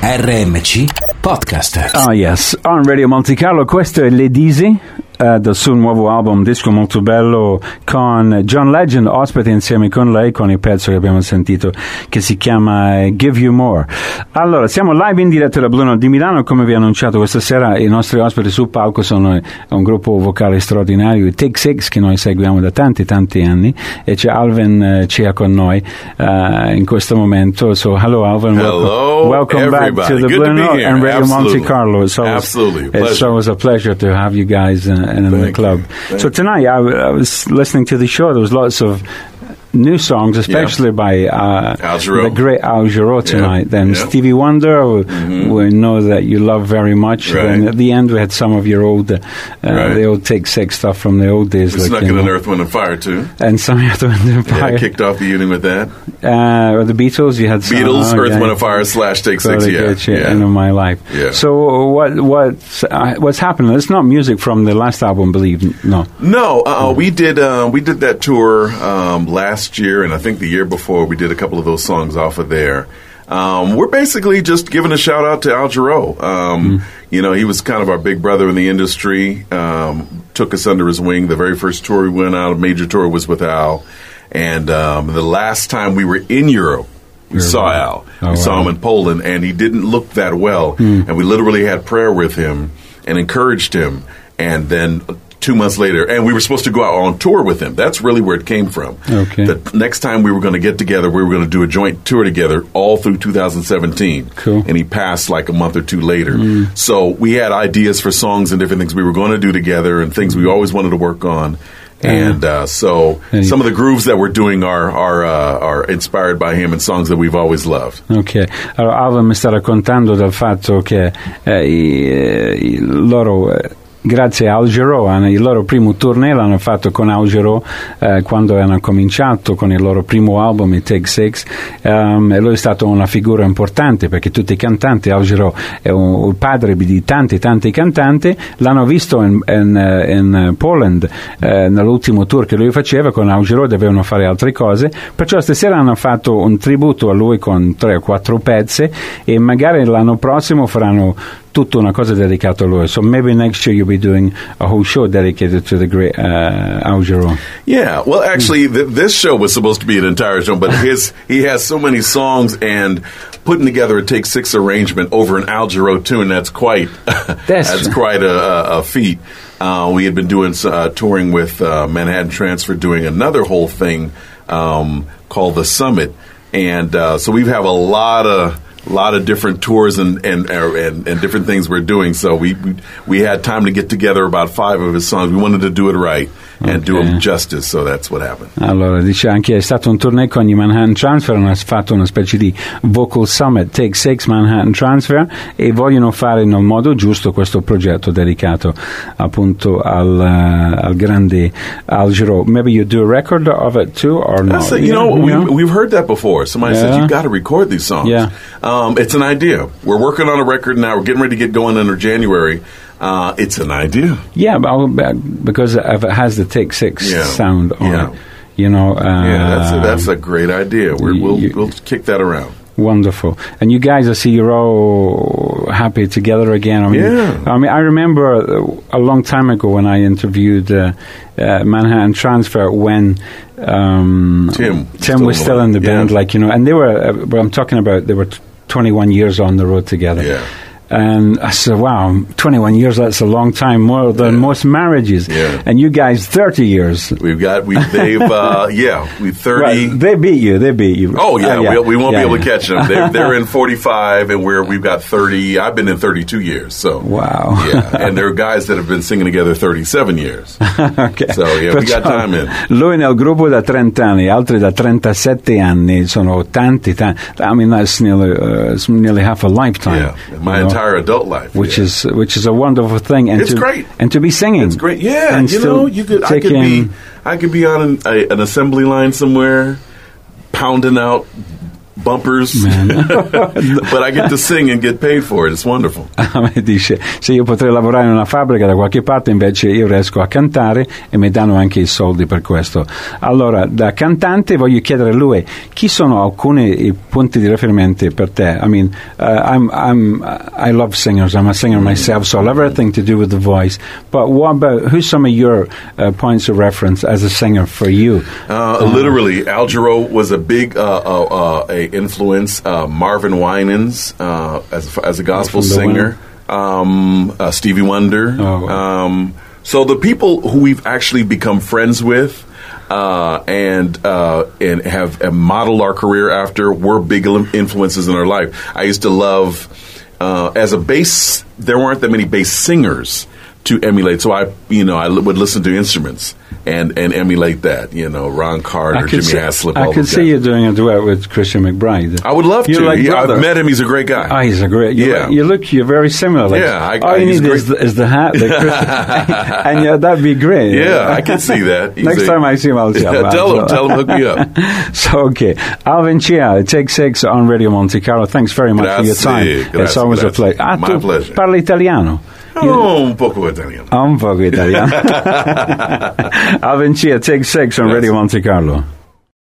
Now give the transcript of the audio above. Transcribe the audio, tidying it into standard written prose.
RMC Podcast. Oh yes, on Radio Monte Carlo questo è l'Edisi del suo nuovo album, disco molto bello, con John Legend ospite insieme con lei, con il pezzo che abbiamo sentito che si chiama Give You More. Allora, siamo live in diretta da Blue Note di Milano. Come vi ho annunciato questa sera, i nostri ospiti sul palco sono un gruppo vocale straordinario, i Take Six, che noi seguiamo da tanti anni, e c'è Alvin Cia con noi in questo momento. So hello Alvin, welcome back to the Blue Note and Radio Monte Carlo. It's always a pleasure to have you guys in the club. So tonight I was listening to the show. There was lots of new songs, especially by the great Al Jarreau tonight. Then Stevie Wonder, we know that you love very much. Then at the end we had some of your old, the old Take Six stuff from the old days. We snuck in an Earth, Wind and Fire too. And some Earth, Wind and Fire. Yeah, kicked off the evening with that. The Beatles, you had some. Earth, Wind and Fire / Take Six. End of My Life. Yeah. So what's happening? It's not music from the last album, believe no. No, we did that tour last year, and I think the year before we did a couple of those songs off of there. We're basically just giving a shout out to Al Jarreau. You know, he was kind of our big brother in the industry. Took us under his wing. The very first tour we went out, a major tour, was with Al. And the last time we were in Europe, we saw Al. We saw him in Poland, and he didn't look that well. And we literally had prayer with him and encouraged him. And then 2 months later, and we were supposed to go out on tour with him. That's really where it came from. Okay. The next time we were going to get together, we were going to do a joint tour together all through 2017. Cool. And he passed like a month or two later. So we had ideas for songs and different things we were going to do together and things we always wanted to work on. And so some of the grooves that we're doing are inspired by him and songs that we've always loved. Ok, allora Alvin mi sta raccontando del fatto che loro... grazie a Al Jarreau, il loro primo tournée l'hanno fatto con Al Jarreau quando hanno cominciato con il loro primo album, i Take Six, e lui è stato una figura importante perché tutti i cantanti, Al Jarreau è il padre di tanti cantanti, l'hanno visto in Poland nell'ultimo tour che lui faceva con Al Jarreau, dovevano fare altre cose, perciò stasera hanno fatto un tributo a lui con 3 o 4 pezzi e magari l'anno prossimo faranno tutta una cosa dedicata a lui. So maybe next year you'll be doing a whole show dedicated to the great Al Jarreau. Yeah, well, actually, this show was supposed to be an entire show, but he has so many songs, and putting together a Take Six arrangement over an Al Jarreau tune, that's quite a feat. We had been doing touring with Manhattan Transfer, doing another whole thing called The Summit, and so we have a lot of different tours and different things we're doing. So we had time to get together about 5 of his songs. We wanted to do it right and do them justice, so that's what happened. Allora, dice anche è stato un tournée con i Manhattan Transfer, hanno fatto una specie di vocal summit, Take Six Manhattan Transfer, e vogliono fare nel modo giusto questo progetto dedicato appunto al grande Al Jarreau. Maybe you do a record of it too, or not? We've heard that before. Somebody said, you've got to record these songs. Yeah. It's an idea. We're working on a record now. We're getting ready to get going under January. It's an idea. Yeah, because it has the Take Six sound on it. You know. That's a great idea. We'll kick that around. Wonderful. And you guys, I see you're all happy together again. I mean, I remember a long time ago when I interviewed Manhattan Transfer when Tim was still in the band, and they were, I'm talking about, they were 21 years on the road together. Yeah. And I said, wow, 21 years, that's a long time, more than most marriages. Yeah. And you guys, 30 years. They've 30. Right, they beat you. Oh, yeah, we won't be able to catch them. They're in 45, and we've got 30. I've been in 32 years, so. Wow. Yeah, and there are guys that have been singing together 37 years. Okay. So, we got time in. Lui nel gruppo da 30 anni, altri da 37 anni, sono tanti. I mean, that's nearly half a lifetime. Yeah, my entire adult life, which is a wonderful thing, and it's great, and to be singing. It's great, yeah. And I could be on an assembly line somewhere, pounding out bumpers, but I get to sing and get paid for it. It's wonderful. Dice, se io potrei lavorare in una fabbrica da qualche parte, invece io riesco a cantare e mi danno anche i soldi per questo. Allora, da cantante voglio chiedere a lui, chi sono alcuni punti di riferimento per te? I mean, I love singers. I'm a singer myself, so I love everything to do with the voice. But what about, who's some of your points of reference as a singer for you? Literally, Al Jarreau was a big a influence. Marvin Winans as a gospel singer. Stevie Wonder. So the people who we've actually become friends with and have modeled our career after were big influences in our life. I used to love, as a bass, there weren't that many bass singers to emulate, so I would listen to instruments and emulate that. Ron Carter, Jimmy Haslip. I could see you doing a duet with Christian McBride. I would love to. I've met him. He's a great guy. Oh, he's a great. You're very similar. Like, all you need is the hat, and that'd be great. Yeah, I can see that. Next time I see him, I'll tell him, hook me up. So, okay, Alvin Chia, Take 6 on Radio Monte Carlo. Thanks very much for your time. It's always a pleasure. My pleasure. Parli italiano? Un poco italiano. Un poco italiano. Alvin Chia, Take 6 on Radio Monte Carlo.